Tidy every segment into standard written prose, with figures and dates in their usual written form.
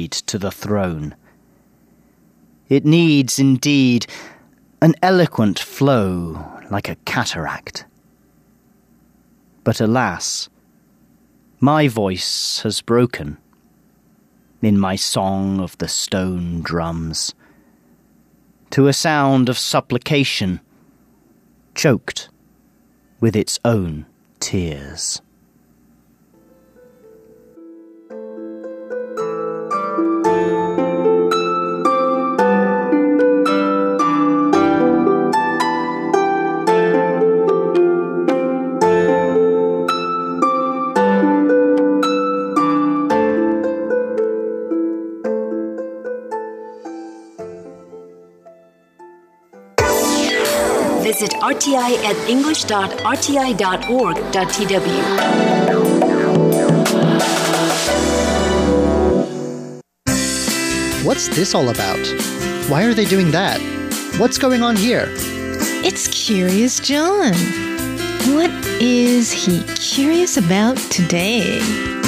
lead to the throne. It needs, indeed, an eloquent flow like a cataract. But alas, my voice has broken in my song of the stone drums, to a sound of supplication, choked with its own tears. Visit RTI at english.rti.org.tw. What's this all about? Why are they doing that? What's going on here? It's Curious John. What is he curious about today?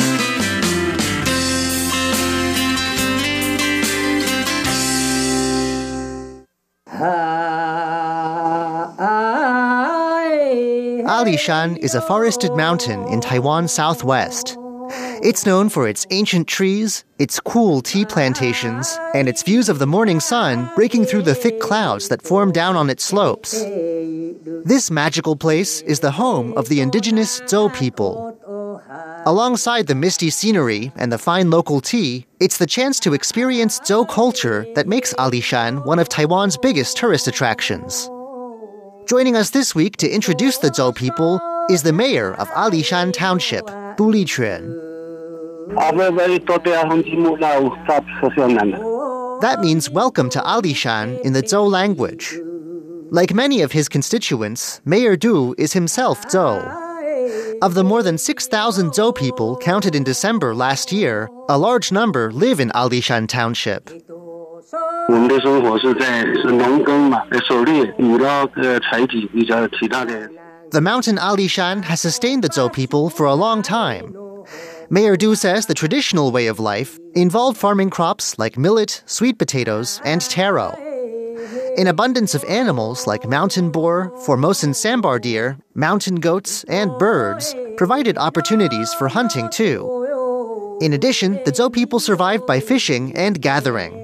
Alishan is a forested mountain in Taiwan's southwest. It's known for its ancient trees, its cool tea plantations, and its views of the morning sun breaking through the thick clouds that form down on its slopes. This magical place is the home of the indigenous Zhou people. Alongside the misty scenery and the fine local tea, it's the chance to experience Zhou culture that makes Alishan one of Taiwan's biggest tourist attractions. Joining us this week to introduce the Zhou people is the mayor of Alishan Township, Du Liquan. That means welcome to Alishan in the Zhou language. Like many of his constituents, Mayor Du is himself Zhou. Of the more than 6,000 Zhou people counted in December last year, a large number live in Alishan Township. The mountain Alishan has sustained the Zhou people for a long time. Mayor Du says the traditional way of life involved farming crops like millet, sweet potatoes, and taro. An abundance of animals like mountain boar, Formosan sambar deer, mountain goats, and birds provided opportunities for hunting too. In addition, the Zhou people survived by fishing and gathering.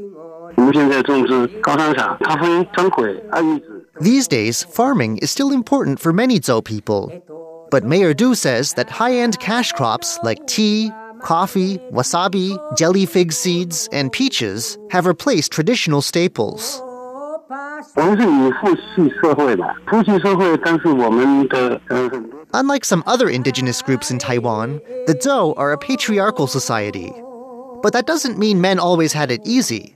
These days, farming is still important for many Zhou people. But Mayor Du says that high-end cash crops like tea, coffee, wasabi, jelly fig seeds, and peaches have replaced traditional staples. Unlike some other indigenous groups in Taiwan, the Zhou are a patriarchal society. But that doesn't mean men always had it easy.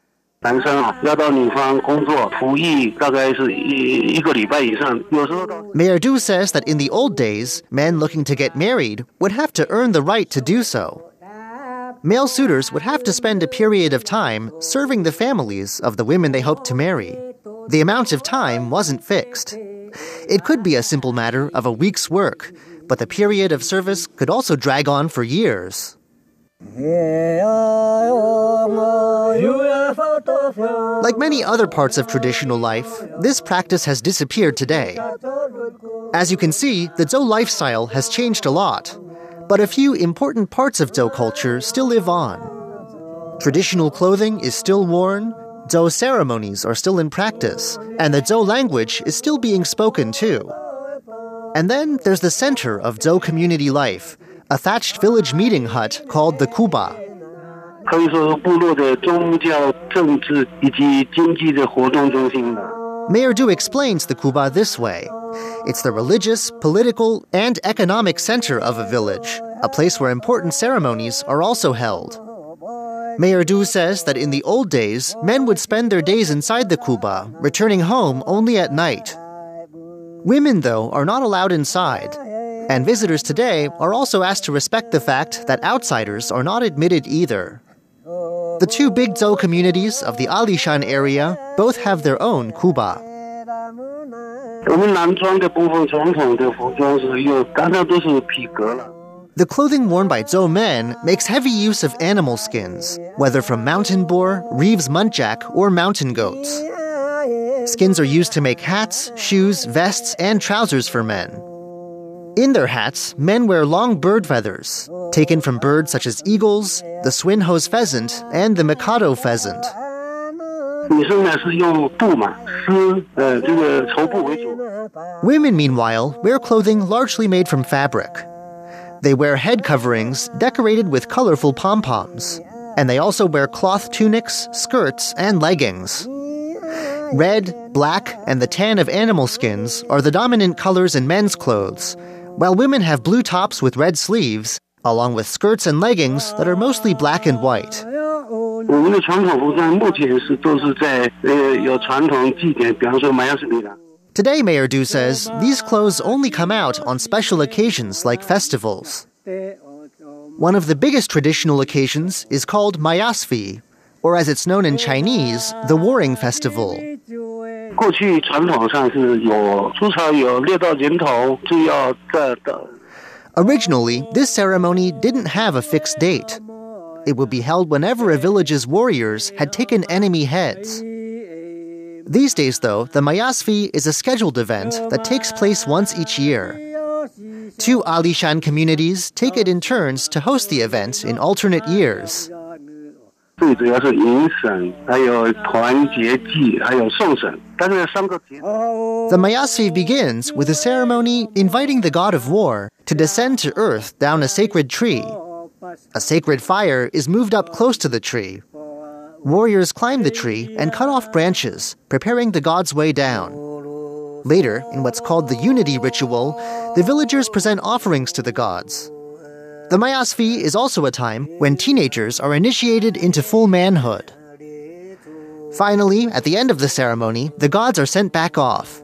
Mayor Du says that in the old days, men looking to get married would have to earn the right to do so. Male suitors would have to spend a period of time serving the families of the women they hoped to marry. The amount of time wasn't fixed. It could be a simple matter of a week's work, but the period of service could also drag on for years. Like many other parts of traditional life, this practice has disappeared today. As you can see, the Zhou lifestyle has changed a lot, but a few important parts of Zhou culture still live on. Traditional clothing is still worn, Zhou ceremonies are still in practice, and the Zhou language is still being spoken too. And then there's the center of Zhou community life, a thatched village meeting hut called the Kuba. Mayor Du explains the Kuba this way. It's the religious, political, and economic center of a village, a place where important ceremonies are also held. Mayor Du says that in the old days, men would spend their days inside the Kuba, returning home only at night. Women, though, are not allowed inside. And visitors today are also asked to respect the fact that outsiders are not admitted either. The two big Zhou communities of the Alishan area both have their own Kuba. The clothing worn by Zhou men makes heavy use of animal skins, whether from mountain boar, Reeves muntjac, or mountain goats. Skins are used to make hats, shoes, vests, and trousers for men. In their hats, men wear long bird feathers, taken from birds such as eagles, the Swinhoe's pheasant, and the Mikado pheasant. Women, meanwhile, wear clothing largely made from fabric. They wear head coverings decorated with colorful pom-poms, and they also wear cloth tunics, skirts, and leggings. Red, black, and the tan of animal skins are the dominant colors in men's clothes, while women have blue tops with red sleeves, along with skirts and leggings that are mostly black and white. Today, Mayor Du says, these clothes only come out on special occasions like festivals. One of the biggest traditional occasions is called Mayasvi, or as it's known in Chinese, the Warring Festival. Originally, this ceremony didn't have a fixed date. It would be held whenever a village's warriors had taken enemy heads. These days, though, the Mayasvi is a scheduled event that takes place once each year. 2 Alishan communities take it in turns to host the event in alternate years. The Mayasvi begins with a ceremony inviting the god of war to descend to earth down a sacred tree. A sacred fire is moved up close to the tree. Warriors climb the tree and cut off branches, preparing the god's way down. Later, in what's called the unity ritual, the villagers present offerings to the gods. The Mayasvi is also a time when teenagers are initiated into full manhood. Finally, at the end of the ceremony, the gods are sent back off.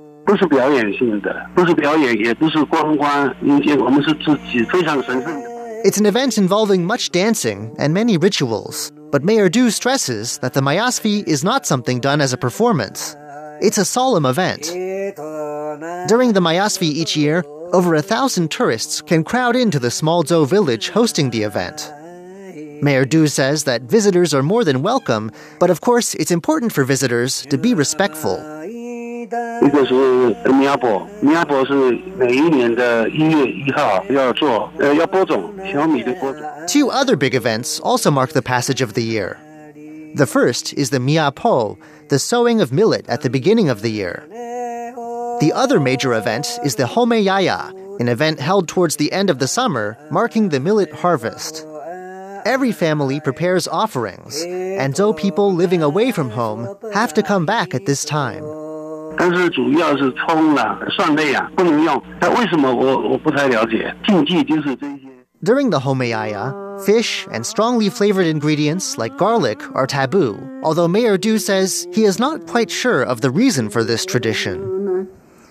It's an event involving much dancing and many rituals, but Mayor Du stresses that the Mayasvi is not something done as a performance. It's a solemn event. During the Mayasvi each year, over 1,000 tourists can crowd into the small Zhou village hosting the event. Mayor Du says that visitors are more than welcome, but of course it's important for visitors to be respectful. 一个是苗圃是每一年的1月1号要播种小米的播种。 Two other big events also mark the passage of the year. The first is the Miapo, the sowing of millet at the beginning of the year. The other major event is the Homeyaya, an event held towards the end of the summer, marking the millet harvest. Every family prepares offerings, and Zhou people living away from home have to come back at this time. 但是主要是葱啦、蒜类啊不能用，那为什么我不太了解？禁忌就是这些。 During the Homeyaya, fish and strongly flavored ingredients like garlic are taboo, although Mayor Du says he is not quite sure of the reason for this tradition.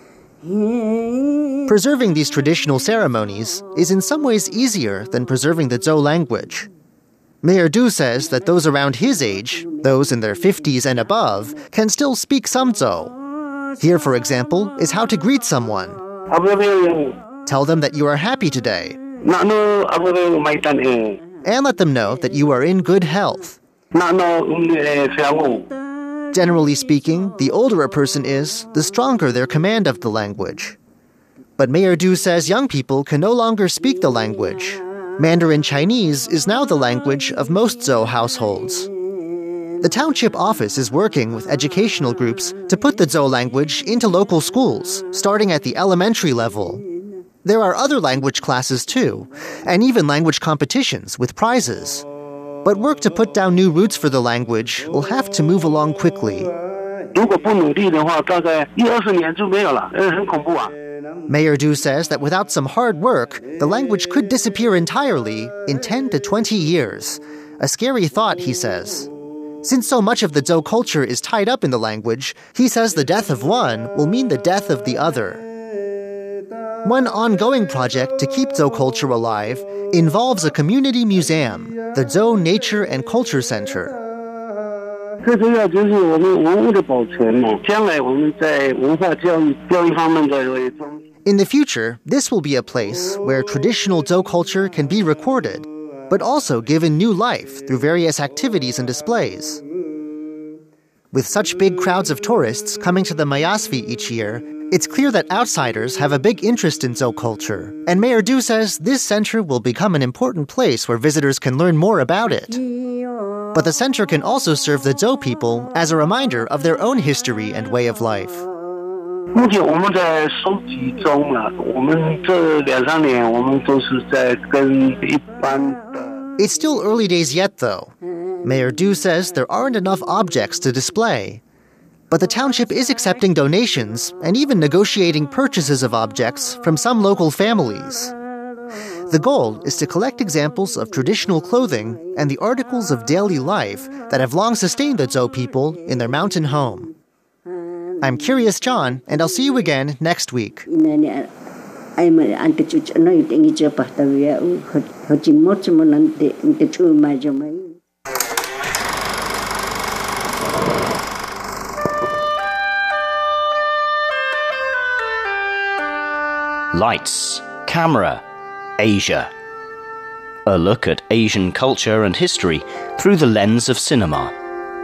Preserving these traditional ceremonies is in some ways easier than preserving the Zhou language. Mayor Du says that those around his age, those in their 50s and above, can still speak some Zhou. Here, for example, is how to greet someone. Tell them that you are happy today. And let them know that you are in good health. Generally speaking, the older a person is, the stronger their command of the language. But Mayor Du says young people can no longer speak the language. Mandarin Chinese is now the language of most Zhou households. The township office is working with educational groups to put the Zhou language into local schools, starting at the elementary level. There are other language classes too, and even language competitions with prizes. But work to put down new roots for the language will have to move along quickly. Mayor Du says that without some hard work, the language could disappear entirely in 10 to 20 years. A scary thought, he says. Since so much of the Zhou culture is tied up in the language, he says the death of one will mean the death of the other. One ongoing project to keep Zhou culture alive involves a community museum, the Zhou Nature and Culture Center. 最重要就是我们文物的保存嘛，将来我们在文化教育方面的中心。 In the future, this will be a place where traditional Zhou culture can be recorded, but also given new life through various activities and displays. With such big crowds of tourists coming to the Mayasvi each year, it's clear that outsiders have a big interest in Zhou culture, and Mayor Du says this center will become an important place where visitors can learn more about it. But the center can also serve the Zhou people as a reminder of their own history and way of life. 目前我们在收集中啊，我们这2-3年我们都是在跟一般的。 It's still early days yet, though. Mayor Du says there aren't enough objects to display. But the township is accepting donations and even negotiating purchases of objects from some local families. The goal is to collect examples of traditional clothing and the articles of daily life that have long sustained the Zhou people in their mountain home. I'm Curious John, and I'll see you again next week. Lights, Camera, Asia. A look at Asian culture and history through the lens of cinema.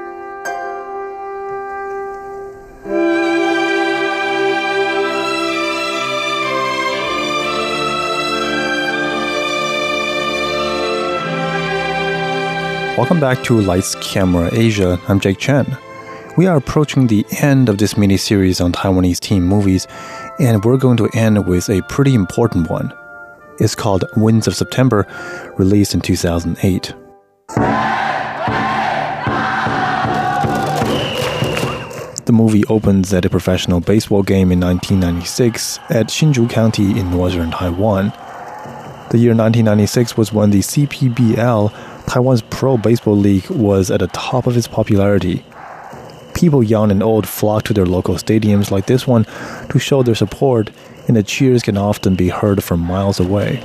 Welcome back to Lights, Camera, Asia. I'm Jake Chen. We are approaching the end of this mini-series on Taiwanese teen movies, and we're going to end with a pretty important one. It's called Winds of September, released in 2008. The movie opens at a professional baseball game in 1996 at Hsinchu County in northern Taiwan. The year 1996 was when the CPBL, Taiwan's pro baseball league, was at the top of its popularity. People young and old flock to their local stadiums like this one to show their support, and the cheers can often be heard from miles away.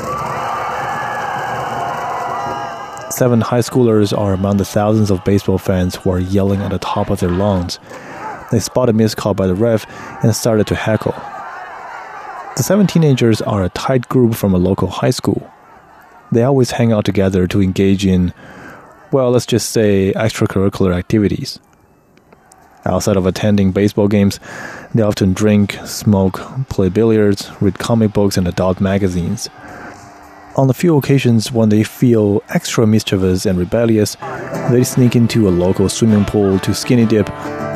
7 high schoolers are among the thousands of baseball fans who are yelling at the top of their lungs. They spot a missed call by the ref and started to heckle. The 7 teenagers are a tight group from a local high school. They always hang out together to engage in, well, let's just say extracurricular activities. Outside of attending baseball games, they often drink, smoke, play billiards, read comic books and adult magazines. On the few occasions when they feel extra mischievous and rebellious, they sneak into a local swimming pool to skinny dip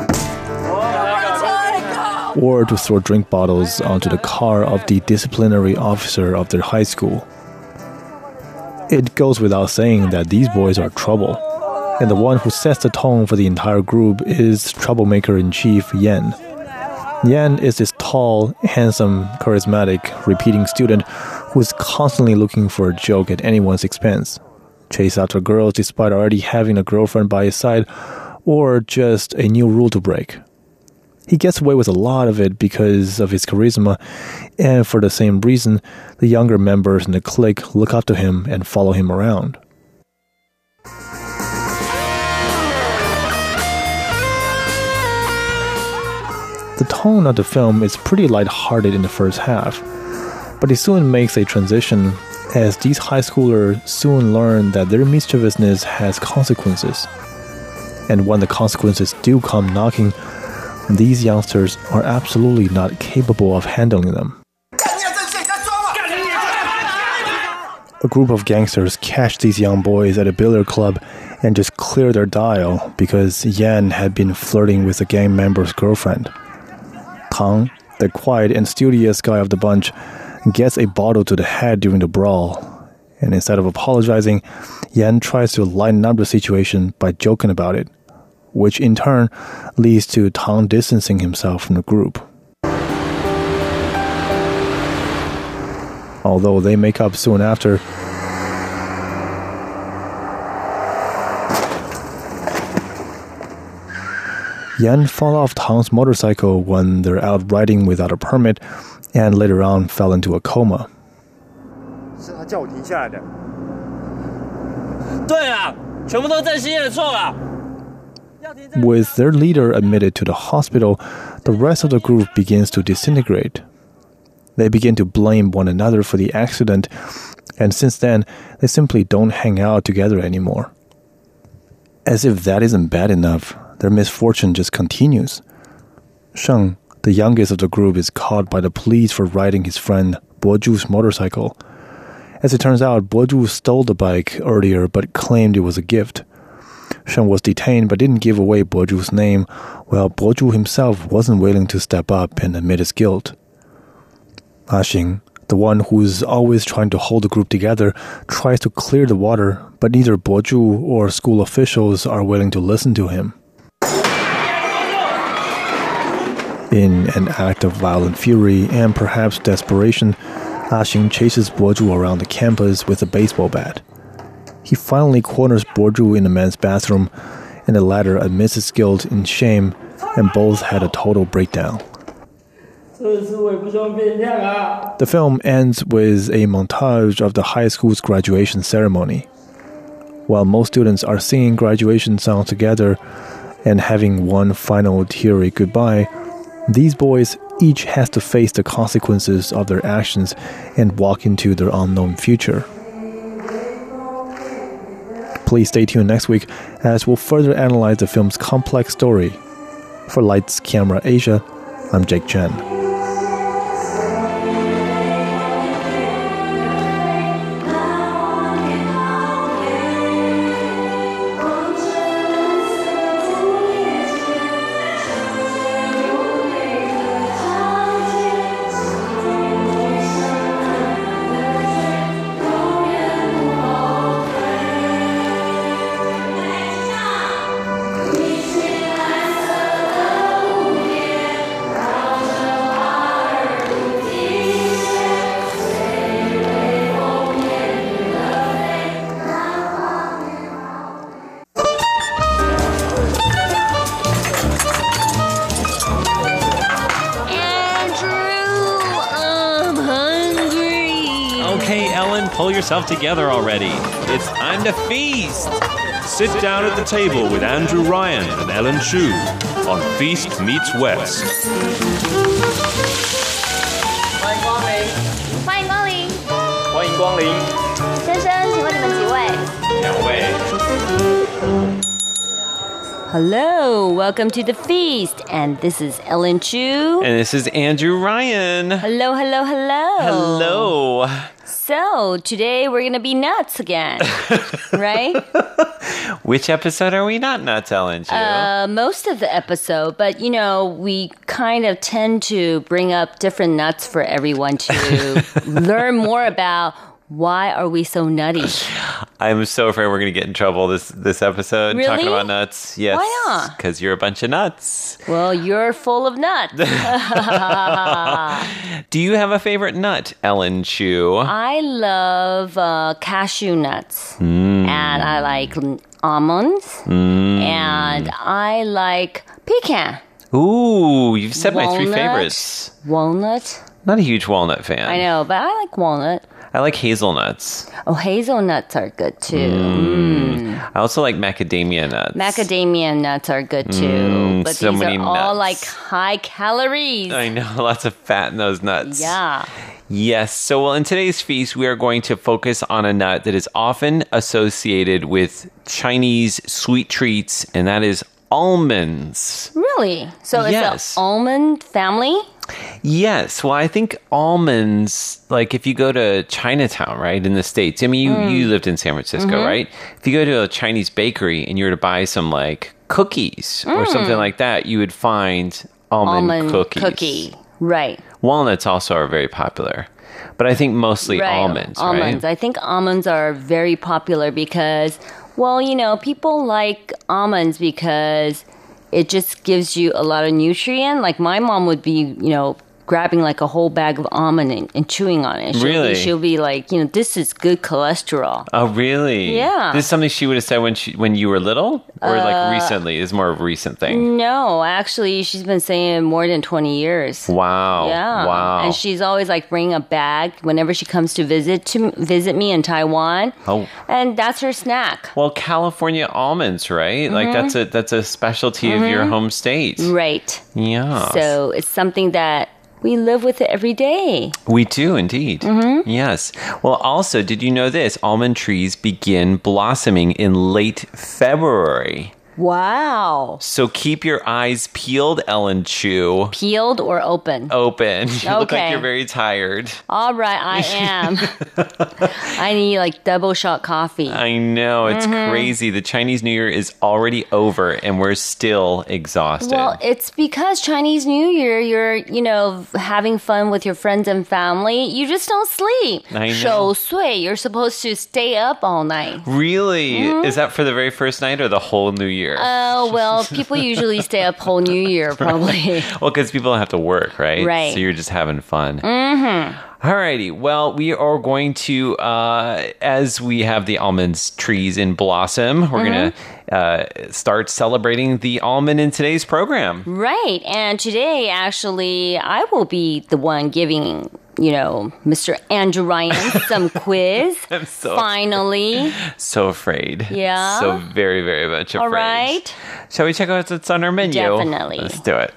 or to throw drink bottles onto the car of the disciplinary officer of their high school. It goes without saying that these boys are trouble. And the one who sets the tone for the entire group is troublemaker-in-chief Yan. Yan is this tall, handsome, charismatic, repeating student who is constantly looking for a joke at anyone's expense, chase after girls despite already having a girlfriend by his side, or just a new rule to break. He gets away with a lot of it because of his charisma, and for the same reason, the younger members in the clique look up to him and follow him around. The tone of the film is pretty lighthearted in the first half, but it soon makes a transition as these high schoolers soon learn that their mischievousness has consequences. And when the consequences do come knocking, these youngsters are absolutely not capable of handling them. A group of gangsters catch these young boys at a billiard club and just clear their dial because Yan had been flirting with a gang member's girlfriend. Tang, the quiet and studious guy of the bunch, gets a bottle to the head during the brawl, and instead of apologizing, Yan tries to lighten up the situation by joking about it, which in turn leads to Tang distancing himself from the group. Although they make up soon after, Yan fell off Tang's motorcycle when they're out riding without a permit, and later on fell into a coma. With their leader admitted to the hospital, the rest of the group begins to disintegrate. They begin to blame one another for the accident, and since then, they simply don't hang out together anymore. As if that isn't bad enough, their misfortune just continues. Sheng, the youngest of the group, is caught by the police for riding his friend Boju's motorcycle. As it turns out, Boju stole the bike earlier but claimed it was a gift. Sheng was detained but didn't give away Boju's name, while Boju himself wasn't willing to step up and admit his guilt. Xing, the one who's always trying to hold the group together, tries to clear the water, but neither Boju or school officials are willing to listen to him. In an act of violent fury and perhaps desperation, Xing chases Boju around the campus with a baseball bat. He finally corners Boju in the men's bathroom, and the latter admits his guilt in shame, and both had a total breakdown. The film ends with a montage of the high school's graduation ceremony. While most students are singing graduation songs together and having one final teary goodbye, these boys each has to face the consequences of their actions and walk into their unknown future. Please stay tuned next week as we'll further analyze the film's complex story. For Lights, Camera, Asia, I'm Jake Chen. Pull yourself together already. It's time to feast. Sit down at the table with Andrew Ryan and Ellen Chu on Feast Meets West. 欢迎光临。 欢迎光临。 欢迎光临。 先生，请问你们几位 2位。 Hello, welcome to the feast, and this is Ellen Chu. And this is Andrew Ryan. Hello, hello, hello. Hello. So, today we're going to be nuts again, right? Which episode are we not nuts, Ellen Chu? Most of the episode, but you know, we kind of tend to bring up different nuts for everyone to learn more about. Why are we so nutty? I'm so afraid we're going to get in trouble this episode. Really? Talking about nuts. Yes. Why not? Because you're a bunch of nuts. Well, you're full of nuts. Do you have a favorite nut, Ellen Chu? I love cashew nuts. And I like almonds. And I like pecan. Ooh, you've said Walnut, my 3 favorites. Walnut. Not a huge walnut fan. I know, but I like walnut. I like hazelnuts. Oh, hazelnuts are good too. I also like macadamia nuts. Macadamia nuts are good too. But so these many are all nuts. like high calories. I know, lots of fat in those nuts. Yeah. Yes. So, well, in today's feast, we are going to focus on a nut that is often associated with Chinese sweet treats, and that is almonds. Really? So Yes. it's an almond family? Yes. Well, I think almonds, like if you go to Chinatown, right, in the States, I mean, you lived in San Francisco, right? If you go to a Chinese bakery and you were to buy some like cookies or something like that, you would find almond cookies. Cookie. Right. Walnuts also are very popular. But I think mostly almonds, Almonds. right? I think almonds are very popular because, well, you know, people like almonds because it just gives you a lot of nutrient. Like my mom would be, you know, grabbing like a whole bag of almond and chewing on it. Really? She'll be like, you know, this is good cholesterol. Oh, really? Yeah. This is something she would have said when you were little? Or like recently? It's more of a recent thing? No, actually, she's been saying it more than 20 years. Wow. Yeah. Wow. And she's always like bringing a bag whenever she comes to visit me in Taiwan. Oh. And that's her snack. Well, California almonds, right? Like that's a specialty of your home state. Right. Yeah. So it's something that we live with it every day. We do indeed. Yes. Well, also, did you know this? Almond trees begin blossoming in late February. Wow. So keep your eyes peeled, Ellen Chu. Peeled or open? Open. You look like Okay. you're very tired. All right, I am. I need like double shot coffee. I know, it's crazy. The Chinese New Year is already over and we're still exhausted. Well, it's because Chinese New Year, you're, having fun with your friends and family. You just don't sleep. I know. 守岁, you're supposed to stay up all night. Really? Is that for the very first night or the whole New Year? Oh, well, people usually stay up whole New Year, probably. Well, because people don't have to work, right? Right. So you're just having fun. Alrighty. Well, we are going to, as we have the almonds trees in blossom, we're going to start celebrating the almond in today's program. Right. And today, actually, I will be the one giving, Mr. Andrew Ryan some quiz. I'm so Finally. So afraid. Yeah? So very, very much afraid. All right. Shall we check out what's on our menu? Definitely. Let's do it.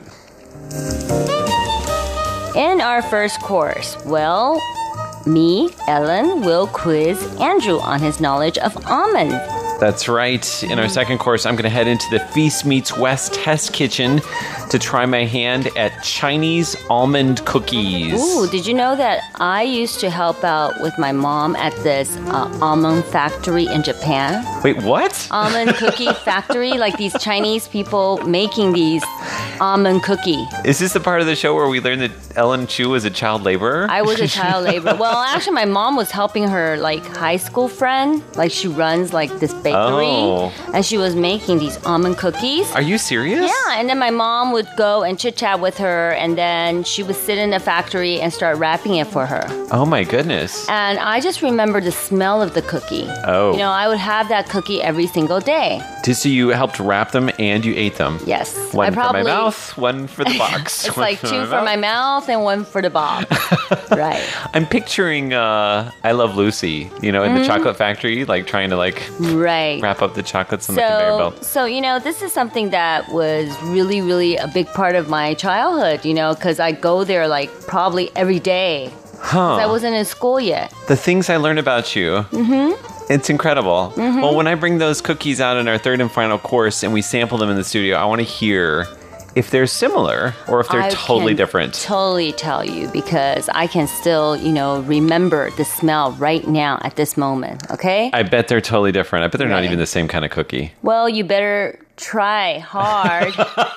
In our first course, well, me, Ellen, will quiz Andrew on his knowledge of almonds. That's right. In our second course, I'm going to head into the Feast Meets West test kitchen to try my hand at Chinese almond cookies. Ooh, did you know that I used to help out with my mom at this almond factory in Japan? Wait, what? Almond cookie factory, like these Chinese people making these almond cookie. Is this the part of the show where we learned that Ellen Chu was a child laborer? I was a child laborer. Well, actually, my mom was helping her like high school friend. Like she runs like this bakery, and she was making these almond cookies. Are you serious? Yeah, and then my mom would go and chit chat with her, and then she would sit in the factory and start wrapping it for her. Oh my goodness. And I just remember the smell of the cookie. Oh. I would have that cookie every single day. So you helped wrap them and you ate them? Yes. One for my mouth, one for the box. It's like two for my mouth and one for the box. Right. I'm picturing I Love Lucy, in the chocolate factory, like trying to Right. wrap up the chocolates on the conveyor belt. So, this is something that was really, really a big part of my childhood, because I go there like probably every day. Huh. I wasn't in school yet. The things I learned about you. It's incredible. Well, when I bring those cookies out in our third and final course and we sample them in the studio, I want to hear if they're similar or if they're totally different. Totally tell you because I can still, remember the smell right now at this moment, okay? I bet they're totally different. I bet they're not even the same kind of cookie. Well, you better try hard,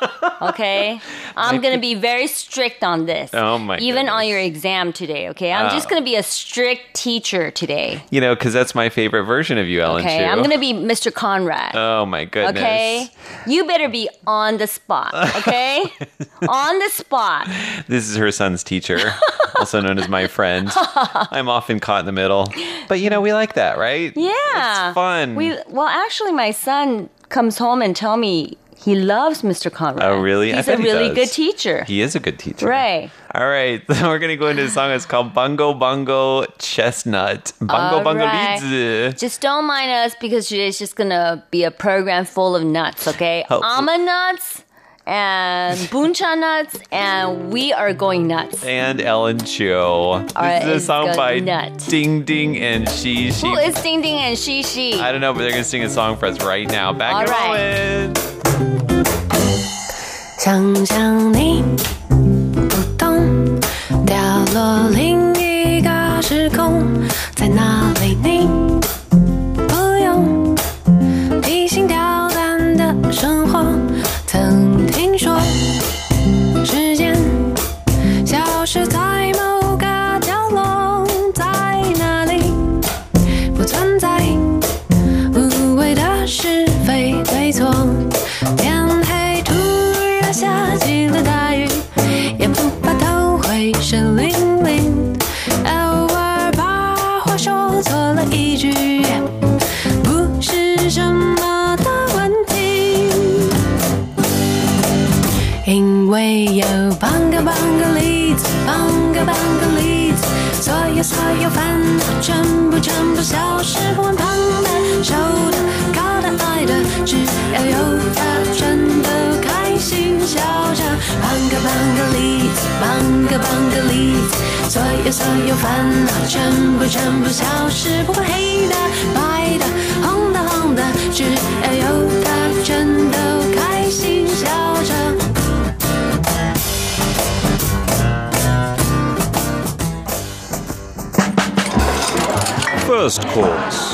okay? I'm going to be very strict on this. Oh, my Even on goodness. your exam today, okay? I'm just going to be a strict teacher today. Because that's my favorite version of you, Ellen Okay, Chu. I'm going to be Mr. Conrad. Oh, my goodness. Okay? You better be on the spot, okay? On the spot. This is her son's teacher, also known as my friend. I'm often caught in the middle. But, we like that, right? Yeah. It's fun. Well, actually, my son comes home and tell me he loves Mr. Conrad. Oh, really? He's a really good teacher. He is a good teacher. Right. All right. We're going to go into a song. It's called Bungo Bungo Chestnut. Bungo All Bungo right. Lizi. Just don't mind us because today's just going to be a program full of nuts, okay? Almond nuts and buncha nuts, and we are going nuts. And Ellen Chu. right, This is a it's song good by nut. Ding Ding and She She. Who is Ding Ding and She She? I don't know, but they're going to sing a song for us right now. Back All in a right. moment. 想象你不动，掉落另一个时空，在哪里你不用提心吊胆的生活。曾听说时间消失在某个角落，在哪里不存在无谓的是非对错。天黑突然下起了大雨，也不怕头会湿淋淋，偶尔把话说错了一句，不是什么的问题，因为有半个例子，所有烦恼全部消失，混胖的、瘦的、高的、矮的，只要有它，全都开心笑着。半个例子。 帮个例子，所有烦恼全部消失，不管黑的白的红的，只要有它，全都开心笑着。 First course.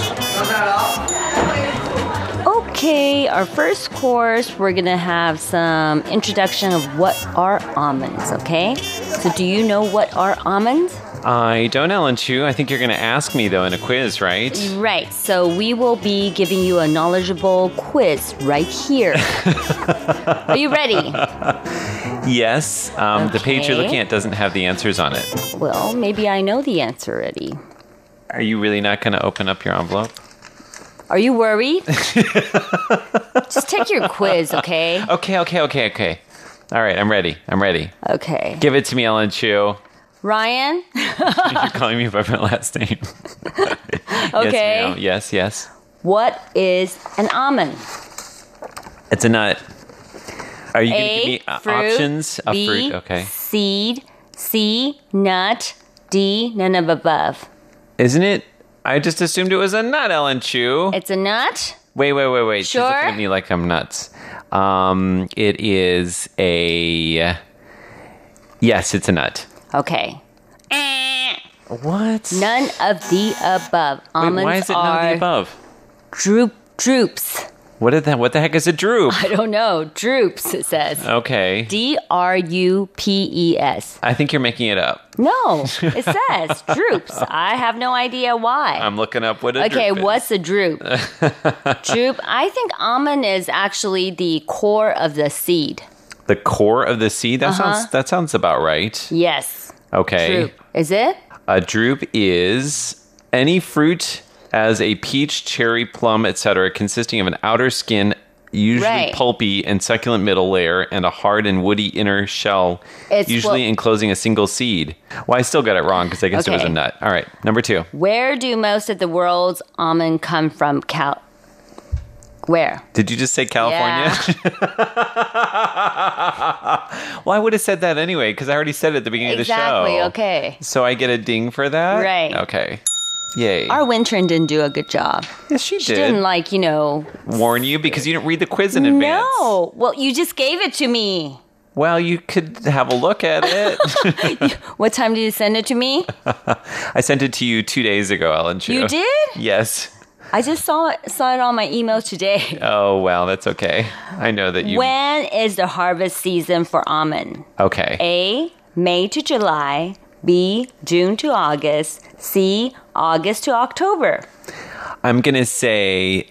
Okay, our first course, we're going to have some introduction of what are almonds, okay? So do you know what are almonds? I don't, Ellen Chu. I think you're going to ask me, though, in a quiz, right? Right. So we will be giving you a knowledgeable quiz right here. Are you ready? Yes. The page you're looking at doesn't have the answers on it. Well, maybe I know the answer already. Are you really not going to open up your envelope? Are you worried? Just take your quiz, okay? Okay. All right, I'm ready. Okay. Give it to me, Ellen Chu. Ryan? You're calling me by my last name. Okay. Yes. What is an almond? It's a nut. Are you going to give me fruit, options? A B, fruit, okay. Seed, C, nut, D, none of above. Isn't it? I just assumed it was a nut, Ellen Chu. It's a nut? Wait. Sure? She's looking at me like I'm nuts. It is a... Yes, it's a nut. Okay. What? None of the above. Almonds Wait, why is it none of the above? Droops. What the heck is a droop? I don't know. Droops, it says. Okay. D-R-U-P-E-S. I think you're making it up. No, it says droops. I have no idea why. I'm looking up what a droop is. Okay, what's a droop? Droop. I think almond is actually the core of the seed. The core of the seed? That sounds about right. Yes. Okay. Droop. Is it? A drupe is any fruit as a peach, cherry, plum, etc., consisting of an outer skin, usually pulpy and succulent middle layer, and a hard and woody inner shell, usually enclosing a single seed. Well, I still got it wrong because I guess it was a nut. All right, number 2. Where do most of the world's almond come from? Where? Did you just say California? Yeah. Well, I would have said that anyway because I already said it at the beginning of the show. Exactly, okay. So I get a ding for that? Right. Okay. Yay. Our Wintron didn't do a good job. Yes, she did. She didn't warn you because you didn't read the quiz in advance. No. Well, you just gave it to me. Well, you could have a look at it. What time did you send it to me? I sent it to you 2 days ago, Ellen Chu. You did? Yes. I just saw it on my email today. Oh, well, that's okay. I know that you... When is the harvest season for almond? Okay. A, May to July. B, June to August. C, August to October. I'm going to say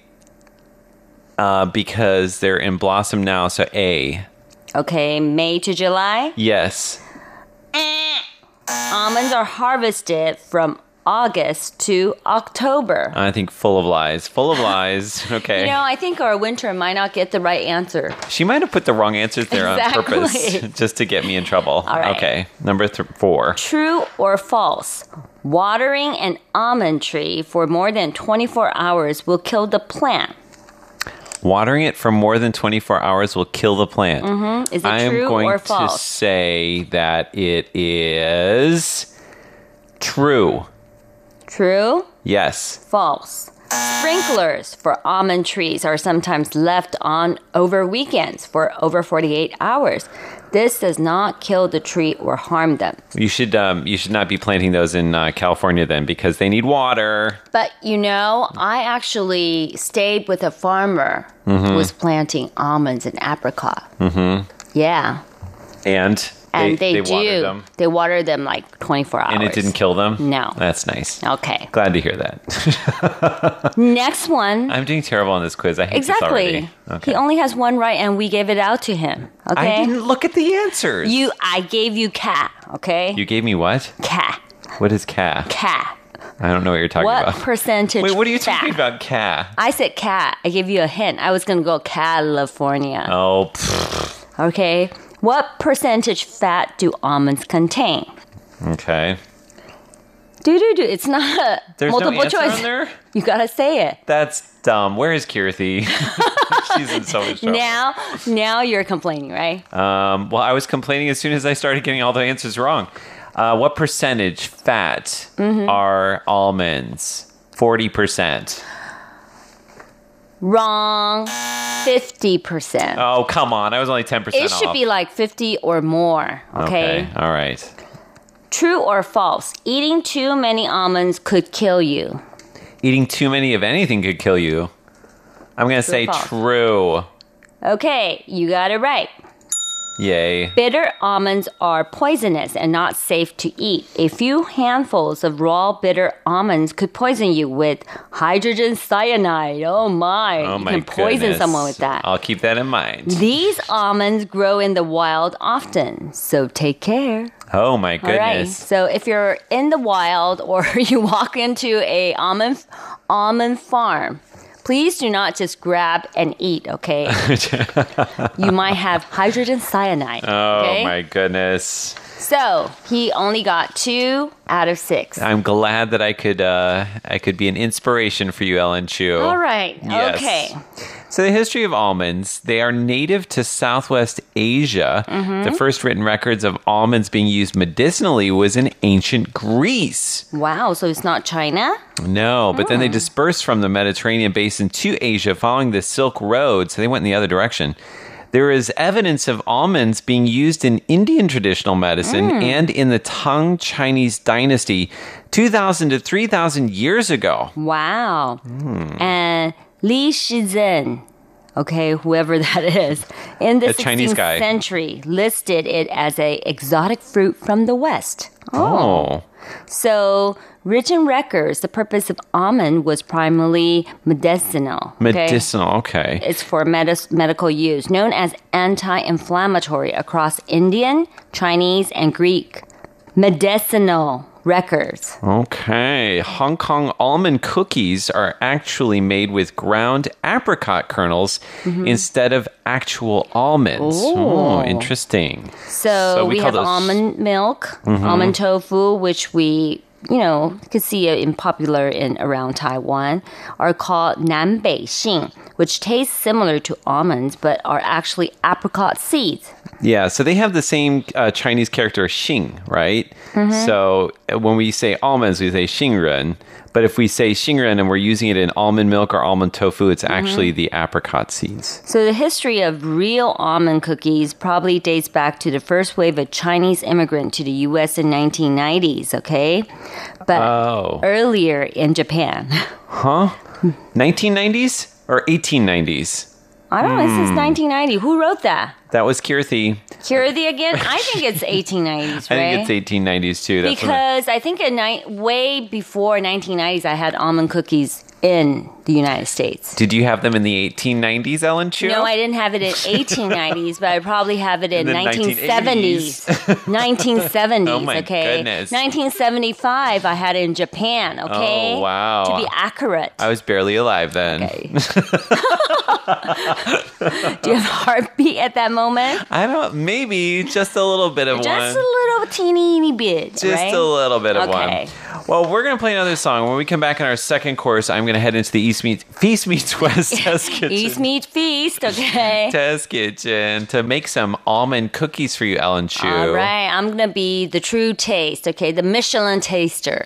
because they're in blossom now, so A. Okay, May to July? Yes. Almonds are harvested from August to October. I think full of lies. Okay. I think our Wintron might not get the right answer. She might have put the wrong answers there on purpose just to get me in trouble. All right. Okay. Number 4. True or false? Watering an almond tree for more than 24 hours will kill the plant. Watering it for more than 24 hours will kill the plant. Mm-hmm. Is it true or false? I'm going to say that it is true. True? Yes. False. Sprinklers for almond trees are sometimes left on over weekends for over 48 hours. This does not kill the tree or harm them. You should not be planting those in California then because they need water. But I actually stayed with a farmer who was planting almonds and apricot. Mm-hmm. Yeah. And they watered them. They watered them like 24 hours. And it didn't kill them? No. That's nice. Okay. Glad to hear that. Next one. I'm doing terrible on this quiz. I hate this already. Okay. He only has one right and we gave it out to him. Okay. I didn't look at the answers. I gave you cat, okay? You gave me what? Cat. What is cat? Cat. I don't know what you're talking about. What percentage Wait, what are you fat? talking about, cat? I said cat. I gave you a hint. I was going to go California. Oh, okay. What percentage fat do almonds contain? Okay. It's not There's multiple no answer choice. on there? You gotta say it. That's dumb. Where is Kirthi? She's in so much trouble. Now you're complaining, right? Well, I was complaining as soon as I started getting all the answers wrong. What percentage fat are almonds? 40%. Wrong. 50%. Oh, come on. I was only 10% It should off. be like 50 or more, okay? All right. True or false? Eating too many almonds could kill you. Eating too many of anything could kill you. I'm going to say false? true. Okay, you got it right. Yay. Bitter almonds are poisonous and not safe to eat. A few handfuls of raw bitter almonds could poison you with hydrogen cyanide. Oh my. Oh You my can poison goodness. someone with that. I'll keep that in mind. These almonds grow in the wild often, so take care. Oh my All right. goodness. So if you're in the wild or you walk into a almond farm, please do not just grab and eat, okay? You might have hydrogen cyanide. Okay? Oh my goodness. So he only got 2 out of 6. I'm glad that I could be an inspiration for you, Ellen Chu. All right. Yes. Okay. So the history of almonds, they are native to Southwest Asia. The first written records of almonds being used medicinally was in ancient Greece. Wow. So it's not China? No, but then they dispersed from the Mediterranean basin to Asia following the Silk Road, so they went in the other direction. There is evidence of almonds being used in Indian traditional medicine and in the Tang Chinese dynasty 2,000 to 3,000 years ago. Wow. And Li Shizhen, okay, whoever that is, in the A Chinese 16th guy. century listed it as a exotic fruit from the West. Oh. So, written records, the purpose of almond was primarily medicinal. Okay? Medicinal, okay. It's for medical use, known as anti-inflammatory across Indian, Chinese, and Greek. Medicinal records. Okay. Hong Kong almond cookies are actually made with ground apricot kernels instead of actual almonds. Oh, interesting. So we call have those- almond milk, almond tofu, which we, could see it in popular in around Taiwan, are called Nanbei Xing, which taste similar to almonds but are actually apricot seeds. Yeah, so they have the same Chinese character xing, right? So when we say almonds, we say xingren. But if we say xingren and we're using it in almond milk or almond tofu, it's actually the apricot seeds. So the history of real almond cookies probably dates back to the first wave of Chinese immigrant to the U.S. in 1990s, okay? But earlier in Japan. Huh? 1990s or 1890s? I don't know, this is 1990. Who wrote that? That was Kirthi. Kirthi again? I think it's 1890s, right? I think it's 1890s too. That's because I think way before 1990s, I had almond cookies in the United States. Did you have them in the 1890s, Ellen Chu? No, I didn't have it in 1890s, but I probably have it in the 1970s. 1970s, Oh my okay? goodness. 1975, I had it in Japan, okay? Oh, wow. To be accurate. I was barely alive then. Okay. Do you have a heartbeat at that moment? I don't, maybe just a little bit of one. Just a little teeny bit, Just right? a little bit of Okay. one. Well, we're going to play another song. When we come back in our second course, I'm going to head into the Feast Meets West Test Kitchen. East meets feast, okay? Test Kitchen to make some almond cookies for you, Ellen Chu. All right, I'm going to be the true taste, okay? The Michelin taster.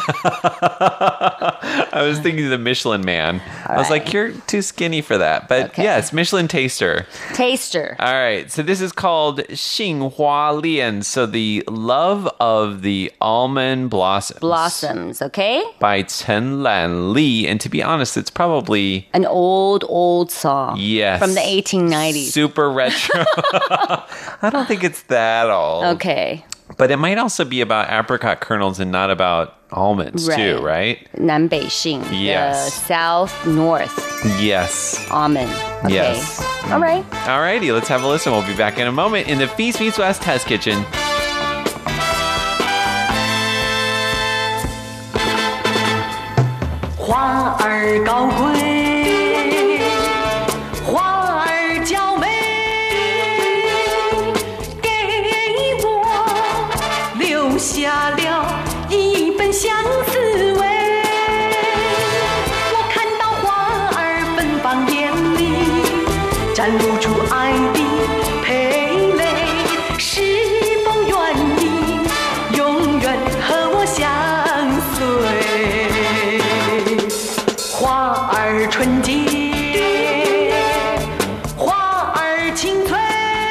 I was thinking the Michelin Man. I was like, you're too skinny for that. But yes, Michelin taster. Taster. All right, so this is called Xinghua Lian, so the love of the almond blossoms. Blossoms, okay? By Chen Lan Li, and to be honest, it's probably an old song. Yes. From the 1890s. Super retro. I don't think it's that old. Okay. But it might also be about apricot kernels and not about almonds too, right? Nanbei Xing. Yes. The south-north Yes. almond. Okay. Yes. All right. All righty, let's have a listen. We'll be back in a moment in the Feast Meets West Test Kitchen. 花儿高贵，花儿娇美，给我留下了一本相思味。我看到花儿芬芳艳丽， 展露出爱的蓓蕾，是否愿意永远和我相随？花儿纯洁，花儿清脆，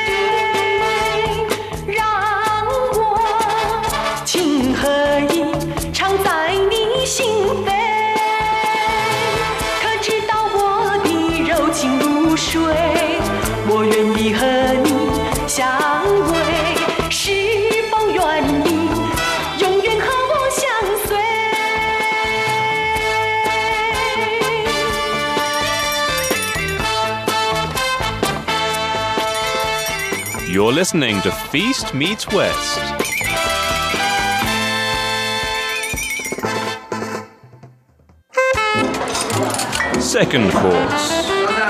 让我情和意常在你心扉。可知道我的柔情如水，我愿意和你相偎，是否愿意永远和我相随 ？You're listening to Feast Meets West. Second course.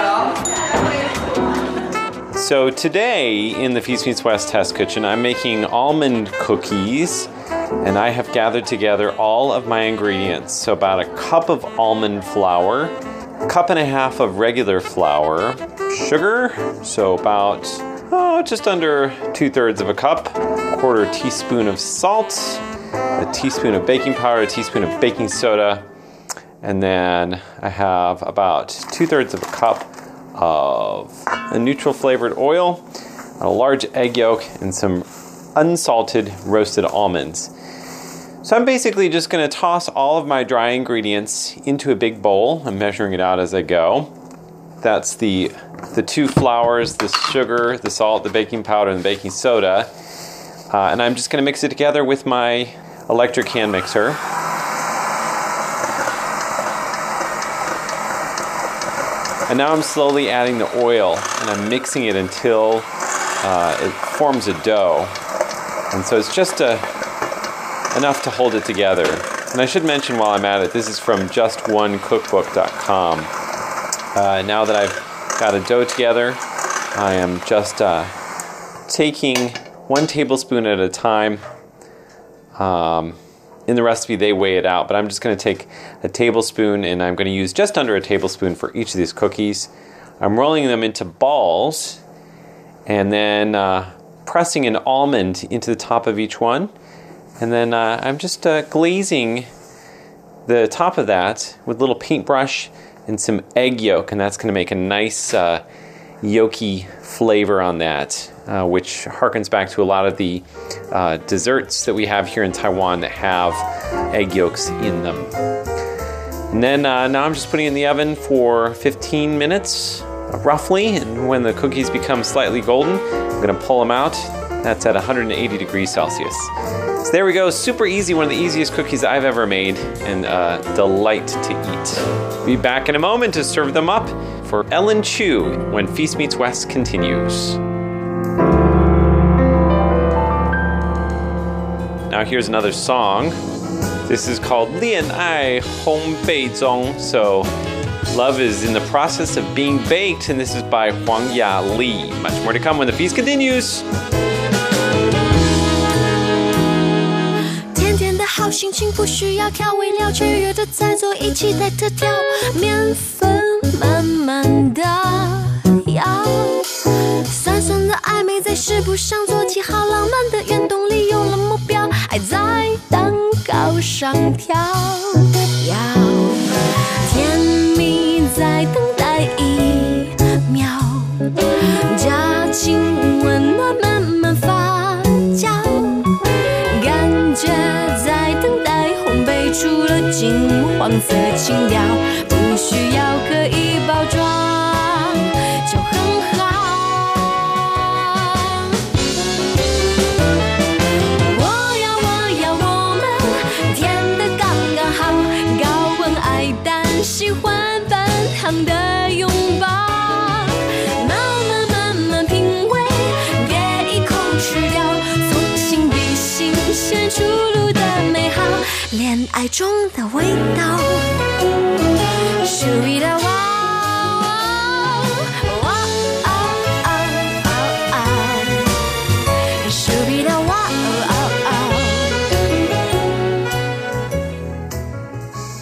So today in the Feast Meets West test kitchen, I'm making almond cookies, and I have gathered together all of my ingredients. So about a cup of almond flour, a cup and a half of regular flour, sugar, so about just under 2/3 of a cup, a quarter teaspoon of salt, a teaspoon of baking powder, a teaspoon of baking soda, and then I have about 2/3 of a cup of a neutral flavored oil, a large egg yolk, and some unsalted roasted almonds. So I'm basically just going to toss all of my dry ingredients into a big bowl. I'm measuring it out as I go. That's the two flours, the sugar, the salt, the baking powder, and the baking soda. And I'm just going to mix it together with my electric hand mixer. And now I'm slowly adding the oil, and I'm mixing it until it forms a dough. And so it's just enough to hold it together. And I should mention while I'm at it, this is from justonecookbook.com. Now that I've got a dough together, I am just taking 1 tablespoon at a time. In the recipe, they weigh it out, but I'm just going to take a tablespoon, and I'm going to use just under a tablespoon for each of these cookies. I'm rolling them into balls, and then pressing an almond into the top of each one. And then I'm just glazing the top of that with a little paintbrush and some egg yolk, and that's going to make a nice yolky flavor on that, which harkens back to a lot of the desserts that we have here in Taiwan that have egg yolks in them. And then now I'm just putting it in the oven for 15 minutes, roughly, and when the cookies become slightly golden, I'm going to pull them out. That's at 180 degrees Celsius. So there we go, super easy, one of the easiest cookies I've ever made, and a delight to eat. Be back in a moment to serve them up for Ellen Chu when Feast Meets West continues. Now here's another song. This is called 恋爱烘焙中. So love is in the process of being baked, and this is by Huang Ya-Li. Much more to come when the feast continues. 甜甜的好心情不需要调味料，取悦的在做一起来特调，面粉慢慢的摇，酸酸的暧昧在食谱上做记号，浪漫的原动力有了目标，爱在蛋糕上跳跃，甜蜜在等待一秒，假情温暖慢慢发酵，感觉在等待烘焙出了金黄色情调，不需要刻意包装就很好。我们甜得刚刚好，高温爱蛋，喜欢半糖的拥抱，慢慢品味，别一口吃掉，从心底新鲜出炉的美好，恋爱中的味道。属于的哇。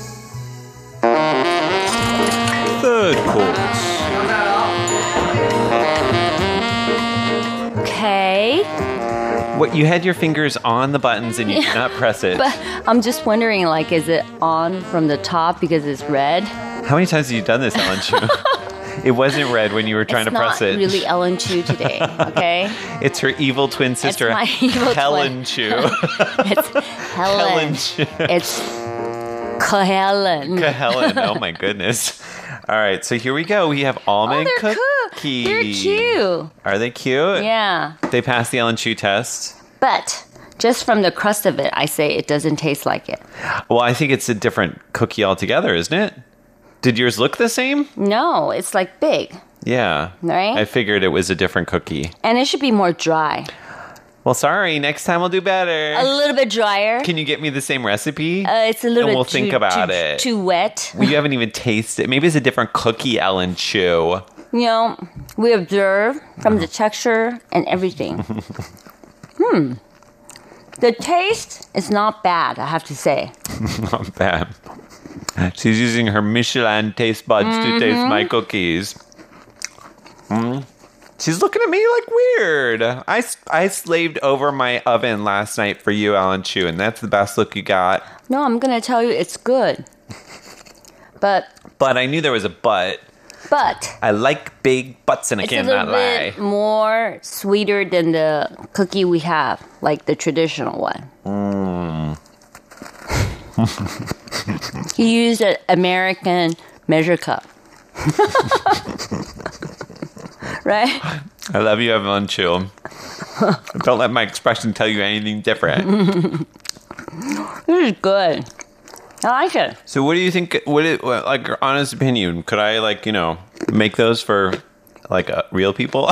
Third course. See? What, you had your fingers on the buttons and you did not press it. But I'm just wondering, like, is it on from the top because it's red? How many times have you done this, Ellen Chu? It wasn't red when you were trying to press it. It's not really Ellen Chu today, okay? It's her evil twin sister, It's my evil Helen twin. Chu. It's Helen. Helen Chu. It's Helen. Helen. Oh my goodness. All right, so here we go. We have almond they're cookies. They're cute. Are they cute? Yeah. They passed the Ellen Chu test. But just from the crust of it, I say it doesn't taste like it. Well, I think it's a different cookie altogether, isn't it? Did yours look the same? No, it's like big. Yeah. Right? I figured it was a different cookie. And it should be more dry. Well, sorry. Next time we'll do better. A little bit drier. Can you get me the same recipe? It's a little and bit we'll think about too, it. Too wet. Well, you haven't even tasted it. Maybe it's a different cookie, Ellen Chu. You know, we observe from the texture and everything. The taste is not bad, I have to say. Not bad. She's using her Michelin taste buds to taste my cookies. She's looking at me like weird. I slaved over my oven last night for you, Ellen Chu, and that's the best look you got. No, I'm going to tell you it's good. But I knew there was a but. I like big butts, and I it's a cannot little lie. bit more sweeter than the cookie we have, like the traditional one. He used an American measure cup. Right? I love you, Ellen Chu. Don't let my expression tell you anything different. This is good. I like it. So what do you think, like, your honest opinion, could I, like, you know, make those for, like, real people?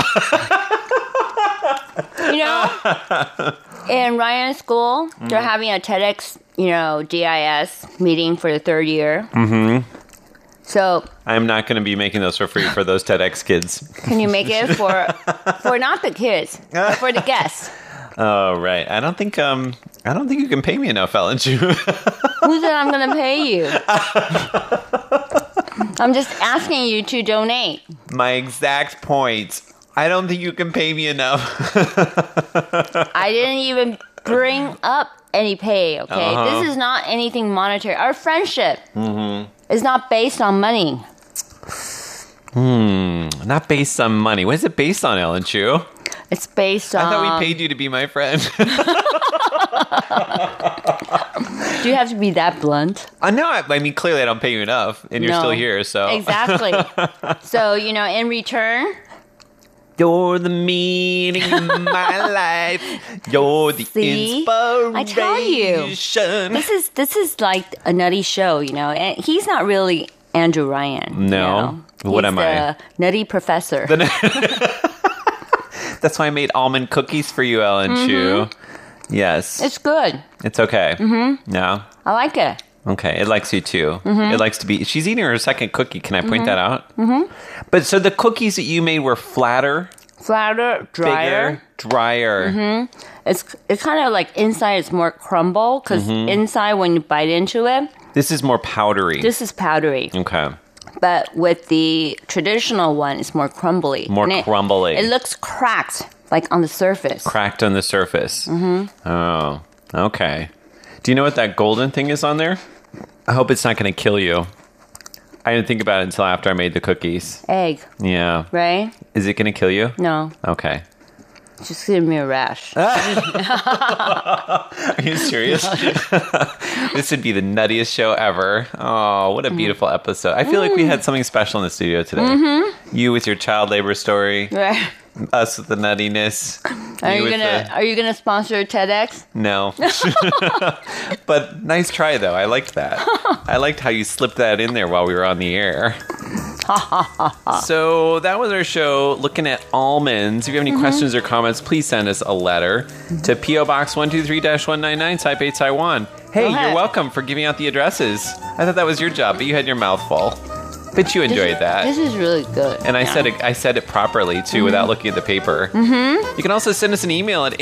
You know, in Ryan's school, they're having a TEDx, you know, GIS meeting for the third year. Mm-hmm. So I'm not going to be making those for free for those TEDx kids. can you make it for not the kids, but for the guests? Oh, right. I don't think you can pay me enough, Ellen Chu. Who said I'm going to pay you? I'm just asking you to donate. My exact point. I don't think you can pay me enough. I didn't even bring up any pay, okay? Uh-huh. This is not anything monetary. Our friendship is not based on money. Not based on money. What is it based on, Ellen Chu? It's based on... I thought we paid you to be my friend. Do you have to be that blunt? No, I mean, clearly I don't pay you enough, and you're No. still here, so... Exactly. So, you know, in return... You're the meaning of my life. You're the See? inspiration. I tell you. This is like a nutty show, you know. And he's not really Andrew Ryan. No. You know? What He's am I? the nutty professor. That's why I made almond cookies for you, Ellen Chu. Yes. It's good. It's okay. No? I like it. Okay, it likes you too. It likes to be... She's eating her second cookie. Can I point that out? But so the cookies that you made were flatter, Flatter, drier. bigger, drier. It's kind of like inside it's more crumble because inside when you bite into it, This is more powdery. this is powdery. Okay. But with the traditional one, it's more crumbly. More And crumbly. It looks cracked, like on the surface. Cracked on the surface. Oh, okay. Do you know what that golden thing is on there? I hope it's not going to kill you. I didn't think about it until after I made the cookies. Egg, Yeah. right? Is it going to kill you? No, Okay. just give me a rash. Are you serious? This would be the nuttiest show ever. Oh, what a beautiful episode. I feel like we had something special in the studio today. You with your child labor story. Right. Us with the nuttiness. Are you with gonna sponsor TEDx? No. But nice try, though. I liked that. I liked how you slipped that in there while we were on the air. So that was our show looking at almonds. If you have any questions or comments, please send us a letter to P.O. Box 123-199, Taipei, Taiwan. Hey, Go ahead. you're welcome for giving out the addresses. I thought that was your job, but you had your mouth full. But you enjoyed that. This is really good. And I said it properly, too, without looking at the paper. You can also send us an email at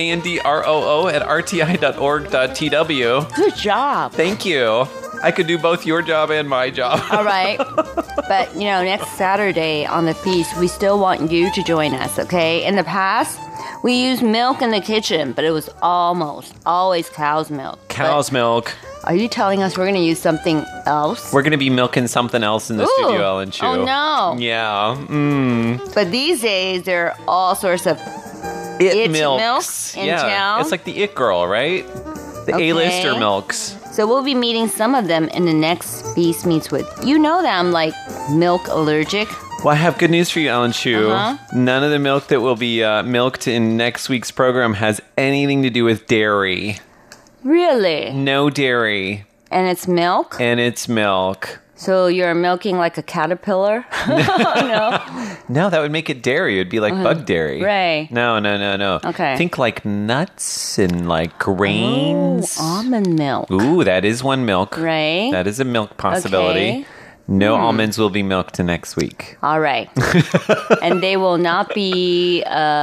androo@rti.org.tw. Good job. Thank you. I could do both your job and my job. All right. But, you know, next Saturday on the feast, we still want you to join us, okay? In the past, We use milk in the kitchen, but it was almost always cow's milk. Cow's milk. Are you telling us we're going to use something else? We're going to be milking something else in the studio, Ellen Chu. Oh, no. Yeah. But these days, there are all sorts of It milk milks. in yeah. town. It's like the It Girl, right? The Okay. A-lister milks. So we'll be meeting some of them in the next Feast Meets With. You know that I'm like milk allergic. Well, I have good news for you, Ellen Chu. Uh-huh. None of the milk that will be milked in next week's program has anything to do with dairy. Really? No dairy. And it's milk? And it's milk. So you're milking like a caterpillar? No. No, that would make it dairy. It would be like bug dairy. Right. No. Okay. Think like nuts and like grains. Oh, almond milk. Ooh, that is one milk. Right. That is a milk possibility. Okay. No almonds will be milked next week. All right. And they will not be,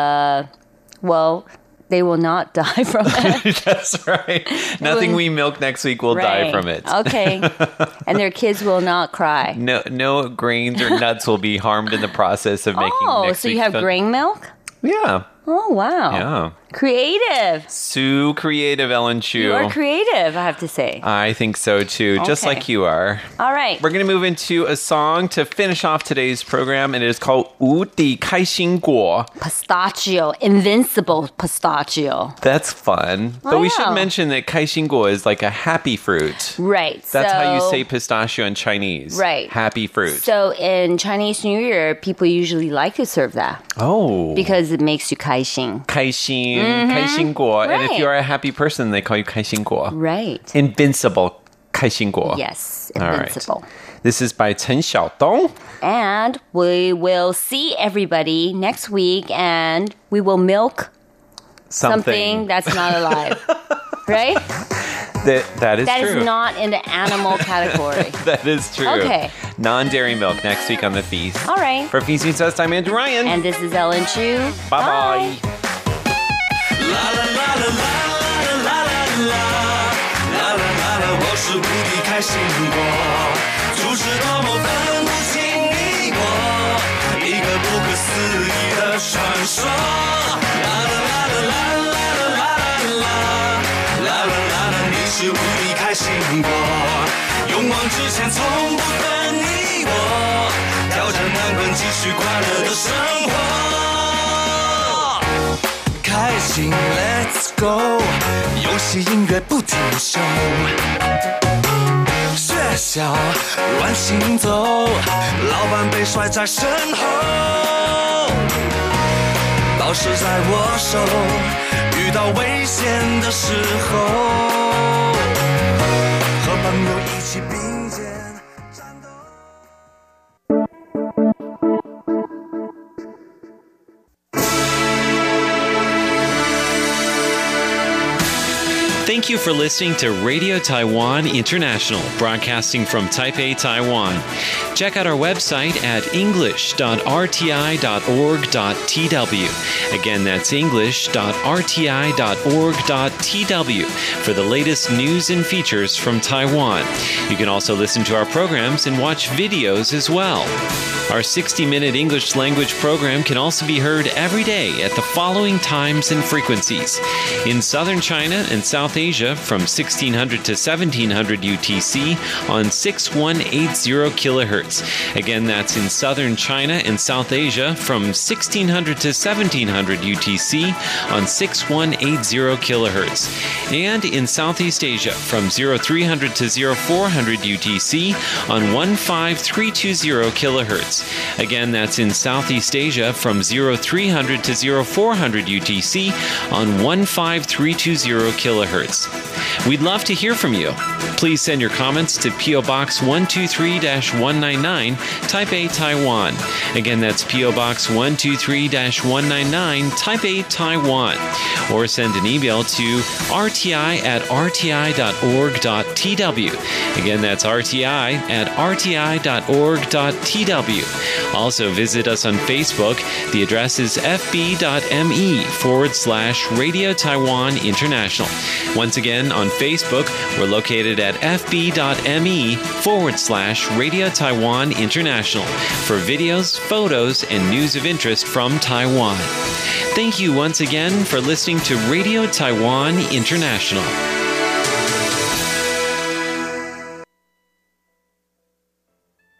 they will not die from it. That's right. Nothing we milk next week will die from it. Okay. And their kids will not cry. No grains or nuts will be harmed in the process of making next so you week's have grain milk? Yeah. Oh, wow. Yeah. Creative. So creative, Ellen Chu. You are creative, I have to say. I think so too, just Okay. like you are. All right. We're going to move into a song to finish off today's program, and it is called 无敌开心果. Pistachio. Invincible pistachio. That's fun. But we should Wow. mention that 开心果 is like a happy fruit. Right. That's how you so- say pistachio in Chinese. Right. Happy fruit. So in Chinese New Year, people usually like to serve that oh. because it makes you 开心. 开心, 开心果. And if Right. you're a happy person, they call you 开心果. Right. Invincible 开心果. Yes, All right. invincible. This is by Chen Xiaodong. And we will see everybody next week and we will milk something that's not alive. Right? That is That true. is not in the animal category. That is true. Okay. Non-dairy milk next week on the feast. All right. For Feast Meets Us, I'm Andrew Ryan. And this is Ellen Chu. Bye-bye. Let's go， 游戏音乐不停休，学校乱行走，老板被甩在身后，老师在握手，遇到危险的时候，和朋友一起并肩战斗。 Thank you for listening to Radio Taiwan International, broadcasting from Taipei, Taiwan. Check out our website at english.rti.org.tw. Again, that's english.rti.org.tw for the latest news and features from Taiwan. You can also listen to our programs and watch videos as well. Our 60-minute English language program can also be heard every day at the following times and frequencies. In southern China and South Asia from 1600 to 1700 UTC on 6180 kilohertz. Again, that's in southern China and South Asia from 1600 to 1700 UTC on 6180 kilohertz. And in Southeast Asia from 0300 to 0400 UTC on 15320 kilohertz. Again, that's in Southeast Asia from 0300 to 0400 UTC on 15320 kilohertz. We'd love to hear from you. Please send your comments to P.O. Box 123-199, Taipei, Taiwan. Again, that's P.O. Box 123-199, Taipei, Taiwan. Or send an email to rti@rti.org.tw. Again, that's rti@rti.org.tw. Also, visit us on Facebook. The address is fb.me/Radio Taiwan International. Once Once again, on Facebook, we're located at fb.me/Radio Taiwan International for videos, photos, and news of interest from Taiwan. Thank you once again for listening to Radio Taiwan International.